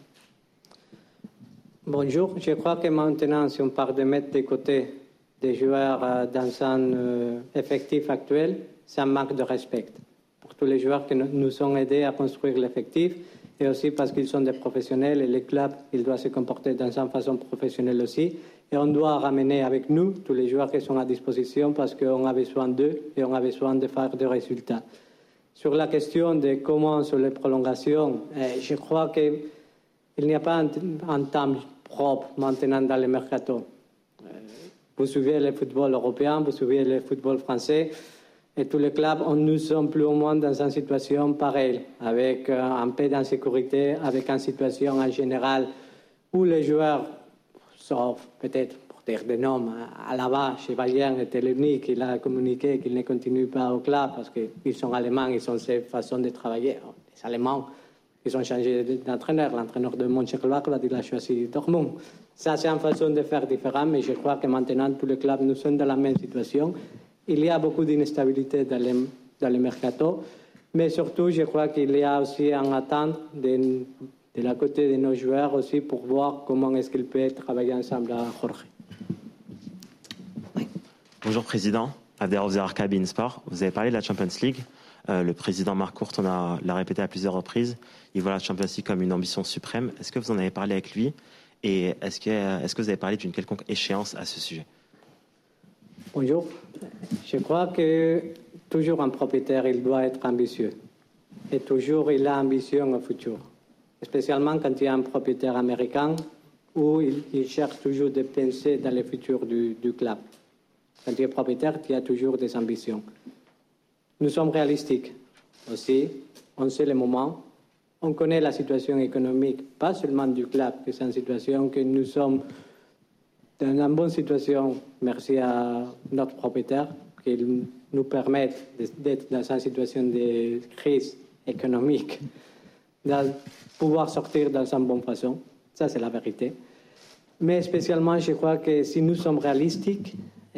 Bonjour, je crois que maintenant, si on parle de mettre de côté des joueurs dans un euh, effectif actuel, c'est un manque de respect pour tous les joueurs qui nous ont aidés à construire l'effectif et aussi parce qu'ils sont des professionnels et les clubs, ils doivent se comporter dans une façon professionnelle aussi. Et on doit ramener avec nous tous les joueurs qui sont à disposition parce qu'on a besoin d'eux et on a besoin de faire des résultats. Sur la question de comment sur les prolongations, eh, je crois qu'il n'y a pas un, un temps propre maintenant dans le mercato. Vous suivez le football européen, vous suivez le football français, et tous les clubs, on, nous sommes plus ou moins dans une situation pareille, avec euh, un peu d'insécurité, avec une situation en général où les joueurs, sauf peut-être pour dire des noms, à la base, chez Bayern était l'unique, il a communiqué qu'il ne continue pas au club parce qu'ils sont allemands, ils ont cette façon de travailler. Les Allemands, ils ont changé d'entraîneur. L'entraîneur de Mönchengladbach, il a choisi Dortmund. Ça, c'est une façon de faire différente, mais je crois que maintenant, tous les clubs, nous sommes dans la même situation. Il y a beaucoup d'instabilité dans le, dans le mercato, mais surtout, je crois qu'il y a aussi un attente de, de la côté de nos joueurs aussi pour voir comment est-ce qu'ils peuvent travailler ensemble à Jorge. Oui. Bonjour, Président. Abderrahmane Zarqa, beIN Sport. Vous avez parlé de la Champions League. Euh, le président Marc Courte l'a répété à plusieurs reprises. Il voit la Champions League comme une ambition suprême. Est-ce que vous en avez parlé avec lui? Et est-ce que, est-ce que vous avez parlé d'une quelconque échéance à ce sujet? Bonjour. Je crois que toujours un propriétaire, il doit être ambitieux. Et toujours, il a ambition au futur. Spécialement quand il y a un propriétaire américain où il, il cherche toujours de penser dans le futur du, du club. Quand tu es propriétaire, tu as toujours des ambitions. Nous sommes réalistiques aussi. On sait le moment. On connaît la situation économique, pas seulement du club, que c'est une situation que nous sommes dans une bonne situation, merci à notre propriétaire, qui nous permet d'être dans une situation de crise économique, de pouvoir sortir dans une bonne façon. Ça, c'est la vérité. Mais spécialement, je crois que si nous sommes réalistiques,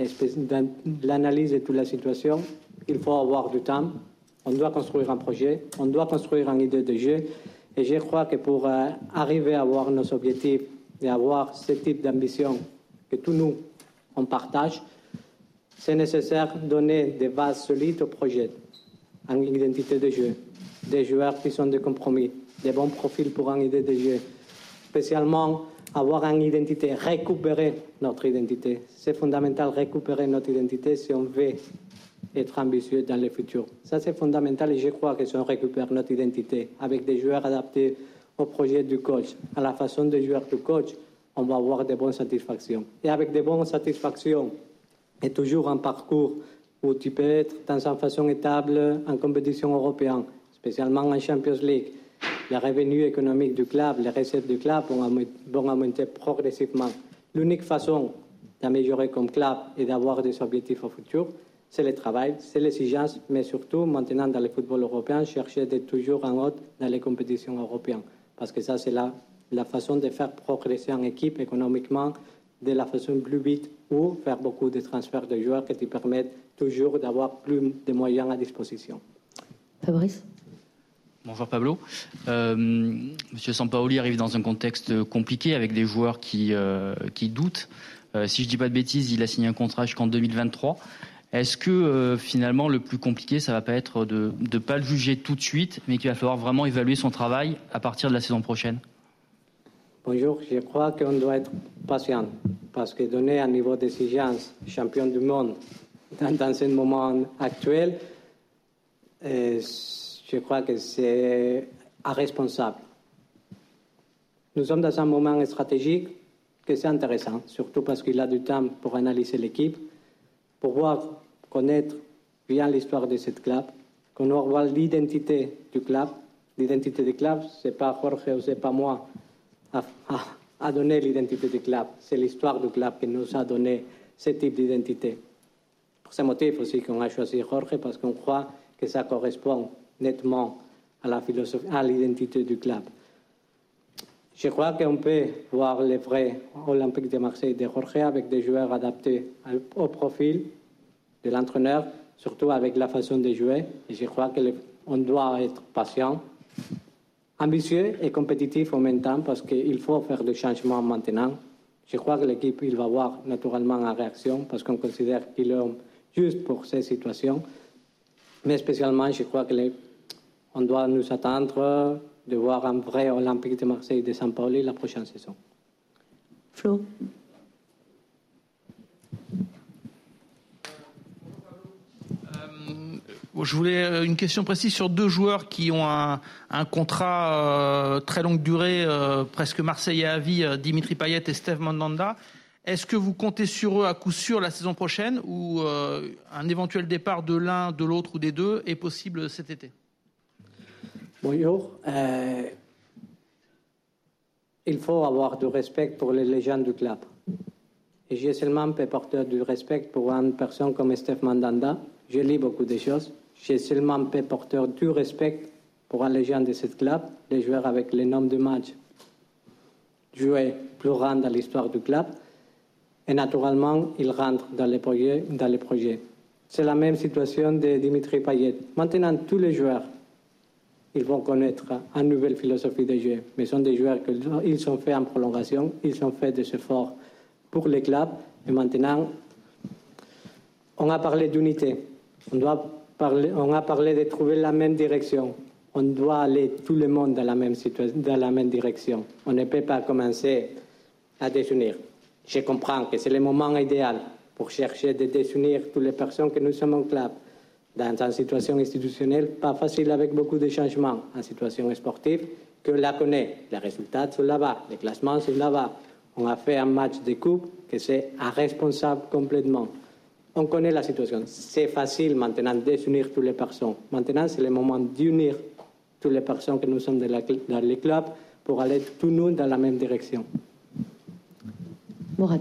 dans l'analyse de toute la situation, il faut avoir du temps. On doit construire un projet, on doit construire une idée de jeu. Et je crois que pour euh, arriver à avoir nos objectifs et avoir ce type d'ambition que tous nous, on partage, c'est nécessaire de donner des bases solides au projet, une identité de jeu, des joueurs qui sont de compromis, des bons profils pour une idée de jeu, spécialement avoir une identité, récupérer notre identité. C'est fondamental récupérer notre identité si on veut être ambitieux dans le futur. Ça, c'est fondamental et je crois que si on récupère notre identité avec des joueurs adaptés au projet du coach, à la façon de jouer du coach, on va avoir de bonnes satisfactions. Et avec de bonnes satisfactions et toujours un parcours où tu peux être dans une façon étable en compétition européenne, spécialement en Champions League. Les revenus économiques du club, les recettes du club vont augmenter progressivement. L'unique façon d'améliorer comme club et d'avoir des objectifs au futur, c'est le travail, c'est l'exigence, mais surtout, maintenant, dans le football européen, chercher d'être toujours en haut dans les compétitions européennes. Parce que ça, c'est la, la façon de faire progresser une équipe économiquement de la façon plus vite ou faire beaucoup de transferts de joueurs qui te permettent toujours d'avoir plus de moyens à disposition. Fabrice? Bonjour Pablo. Euh, Monsieur Sampaoli arrive dans un contexte compliqué avec des joueurs qui, euh, qui doutent. Euh, si je ne dis pas de bêtises, il a signé un contrat jusqu'en deux mille vingt-trois. Est-ce que euh, finalement le plus compliqué, ça ne va pas être de ne pas le juger tout de suite, mais qu'il va falloir vraiment évaluer son travail à partir de la saison prochaine? Bonjour, je crois qu'on doit être patient, parce que donner un niveau d'exigence champion du monde dans, dans ce moment actuel, euh, je crois que c'est à responsable. Nous sommes dans un moment stratégique que c'est intéressant, surtout parce qu'il a du temps pour analyser l'équipe, pour voir, connaître bien l'histoire de cette club, qu'on voit l'identité du club. L'identité du club, ce n'est pas Jorge ou ce n'est pas moi à, à, à donner l'identité du club. C'est l'histoire du club qui nous a donné ce type d'identité. Pour ce motif aussi qu'on a choisi Jorge, parce qu'on croit que ça correspond nettement à la philosophie, à l'identité du club. Je crois qu'on peut voir le vrai Olympique de Marseille de Jorge avec des joueurs adaptés au profil de l'entraîneur, surtout avec la façon de jouer. Et je crois qu'on doit être patient, ambitieux et compétitif en même temps parce qu'il faut faire des changements maintenant. Je crois que l'équipe il va avoir naturellement en réaction parce qu'on considère qu'il est juste pour ces situations. Mais spécialement, je crois qu'on doit nous attendre de voir un vrai Olympique de Marseille de Sampaoli la prochaine saison. Flo. Je voulais une question précise sur deux joueurs qui ont un, un contrat euh, très longue durée, euh, presque Marseillais à vie, euh, Dimitri Payet et Steve Mandanda. Est-ce que vous comptez sur eux à coup sûr la saison prochaine ou euh, un éventuel départ de l'un, de l'autre ou des deux est possible cet été? Bonjour. Euh, il faut avoir du respect pour les légendes du club. Et j'ai seulement peu porteur du respect pour une personne comme Steve Mandanda. Je lis beaucoup de choses. J'ai seulement peu porteur du respect pour une légende de ce club, les joueurs avec le nombre de matchs joués plus grands dans l'histoire du club. Et naturellement, il rentre dans les projets. Dans les projets. C'est la même situation de Dimitri Payet. Maintenant, tous les joueurs, ils vont connaître une nouvelle philosophie de jeu. Mais ce sont des joueurs qui sont faits en prolongation, ils ont fait des efforts pour les clubs. Et maintenant, on a parlé d'unité. On, doit parler, on a parlé de trouver la même direction. On doit aller tout le monde dans la même, situation, dans la même direction. On ne peut pas commencer à désunir. Je comprends que c'est le moment idéal pour chercher de désunir toutes les personnes que nous sommes en club. Dans une situation institutionnelle, pas facile avec beaucoup de changements. En situation sportive, que la connaît. Les résultats sont là-bas, les classements sont là-bas. On a fait un match de coupe que c'est irresponsable complètement. On connaît la situation. C'est facile maintenant de désunir toutes les personnes. Maintenant, c'est le moment d'unir toutes les personnes que nous sommes dans, la, dans les clubs pour aller tous nous dans la même direction. Mourad.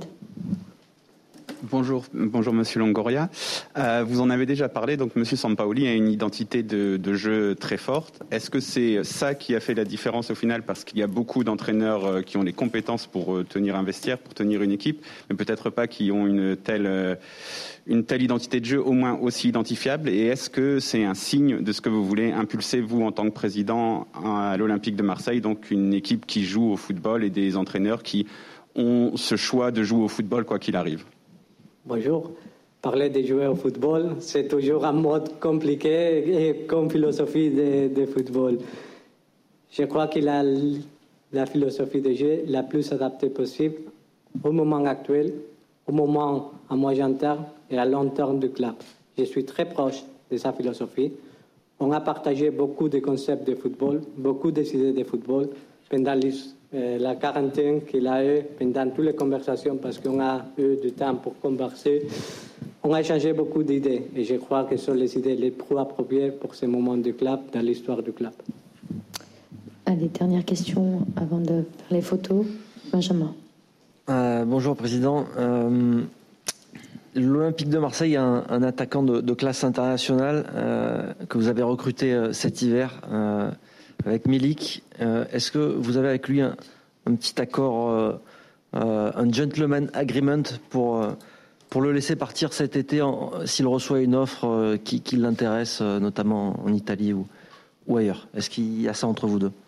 Bonjour, bonjour Monsieur Longoria. Euh, vous en avez déjà parlé, donc Monsieur Sampaoli a une identité de, de jeu très forte. Est-ce que c'est ça qui a fait la différence au final, parce qu'il y a beaucoup d'entraîneurs qui ont les compétences pour tenir un vestiaire, pour tenir une équipe, mais peut-être pas qui ont une telle, une telle identité de jeu au moins aussi identifiable. Et est-ce que c'est un signe de ce que vous voulez impulser, vous, en tant que président à l'Olympique de Marseille, donc une équipe qui joue au football et des entraîneurs qui ont ce choix de jouer au football quoi qu'il arrive? Bonjour. Parler de jouer au football, c'est toujours un mode compliqué et comme philosophie de, de football. Je crois qu'il a la philosophie de jeu la plus adaptée possible au moment actuel, au moment à moyen terme et à long terme du club. Je suis très proche de sa philosophie. On a partagé beaucoup de concepts de football, beaucoup d'idées de football pendant les Euh, la quarantaine qu'il a eu pendant toutes les conversations, parce qu'on a eu du temps pour converser. On a échangé beaucoup d'idées et je crois que ce sont les idées les plus appropriées pour ce moment du club, dans l'histoire du club. Allez, dernière question avant de faire les photos. Benjamin. Euh, bonjour Président. Euh, L'Olympique de Marseille a un, un attaquant de, de classe internationale euh, que vous avez recruté euh, cet hiver. Euh, Avec Milik, euh, est-ce que vous avez avec lui un, un petit accord, euh, euh, un gentleman agreement pour, euh, pour le laisser partir cet été s'il reçoit une offre euh, qui, qui l'intéresse, euh, notamment en Italie ou, ou ailleurs? Est-ce qu'il y a ça entre vous deux?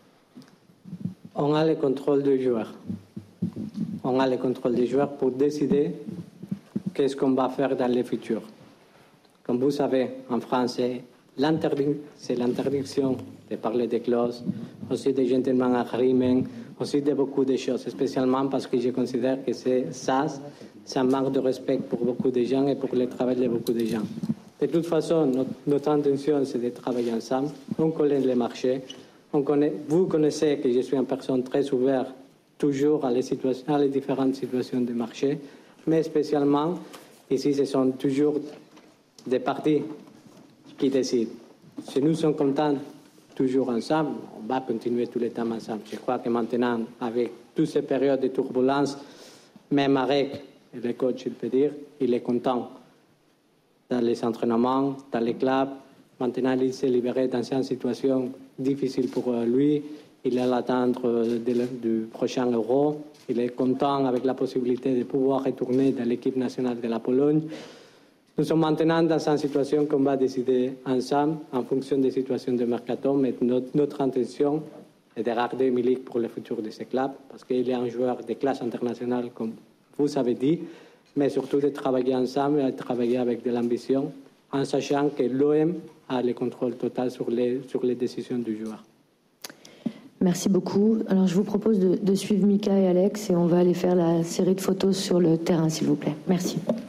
On a le contrôle du joueur. On a le contrôle du joueur pour décider qu'est-ce qu'on va faire dans le futur. Comme vous savez, en français, c'est l'interdiction de parler des clauses, aussi des gentleman agreement, aussi de beaucoup de choses, spécialement parce que je considère que c'est ça, c'est un manque de respect pour beaucoup de gens et pour le travail de beaucoup de gens. De toute façon, notre, notre intention, c'est de travailler ensemble, on connaît les marchés, on connaît, vous connaissez que je suis une personne très ouverte toujours à les, situations, à les différentes situations de marché, mais spécialement, ici, ce sont toujours des partis qui décident. Si nous sommes contents toujours ensemble, on va continuer tout le temps ensemble. Je crois que maintenant, avec toutes ces périodes de turbulence, même avec le coach, il peut dire, il est content dans les entraînements, dans les clubs. Maintenant, il s'est libéré dans une situation difficile pour lui. Il est à l'attendre du prochain Euro. Il est content avec la possibilité de pouvoir retourner dans l'équipe nationale de la Pologne. Nous sommes maintenant dans une situation qu'on va décider ensemble en fonction des situations de mercato, mais notre, notre intention est de garder Milik pour le futur de ce club, parce qu'il est un joueur de classe internationale, comme vous avez dit, mais surtout de travailler ensemble et de travailler avec de l'ambition, en sachant que l'O M a le contrôle total sur les, sur les décisions du joueur. Merci beaucoup. Alors, je vous propose de, de suivre Mika et Alex et on va aller faire la série de photos sur le terrain, s'il vous plaît. Merci.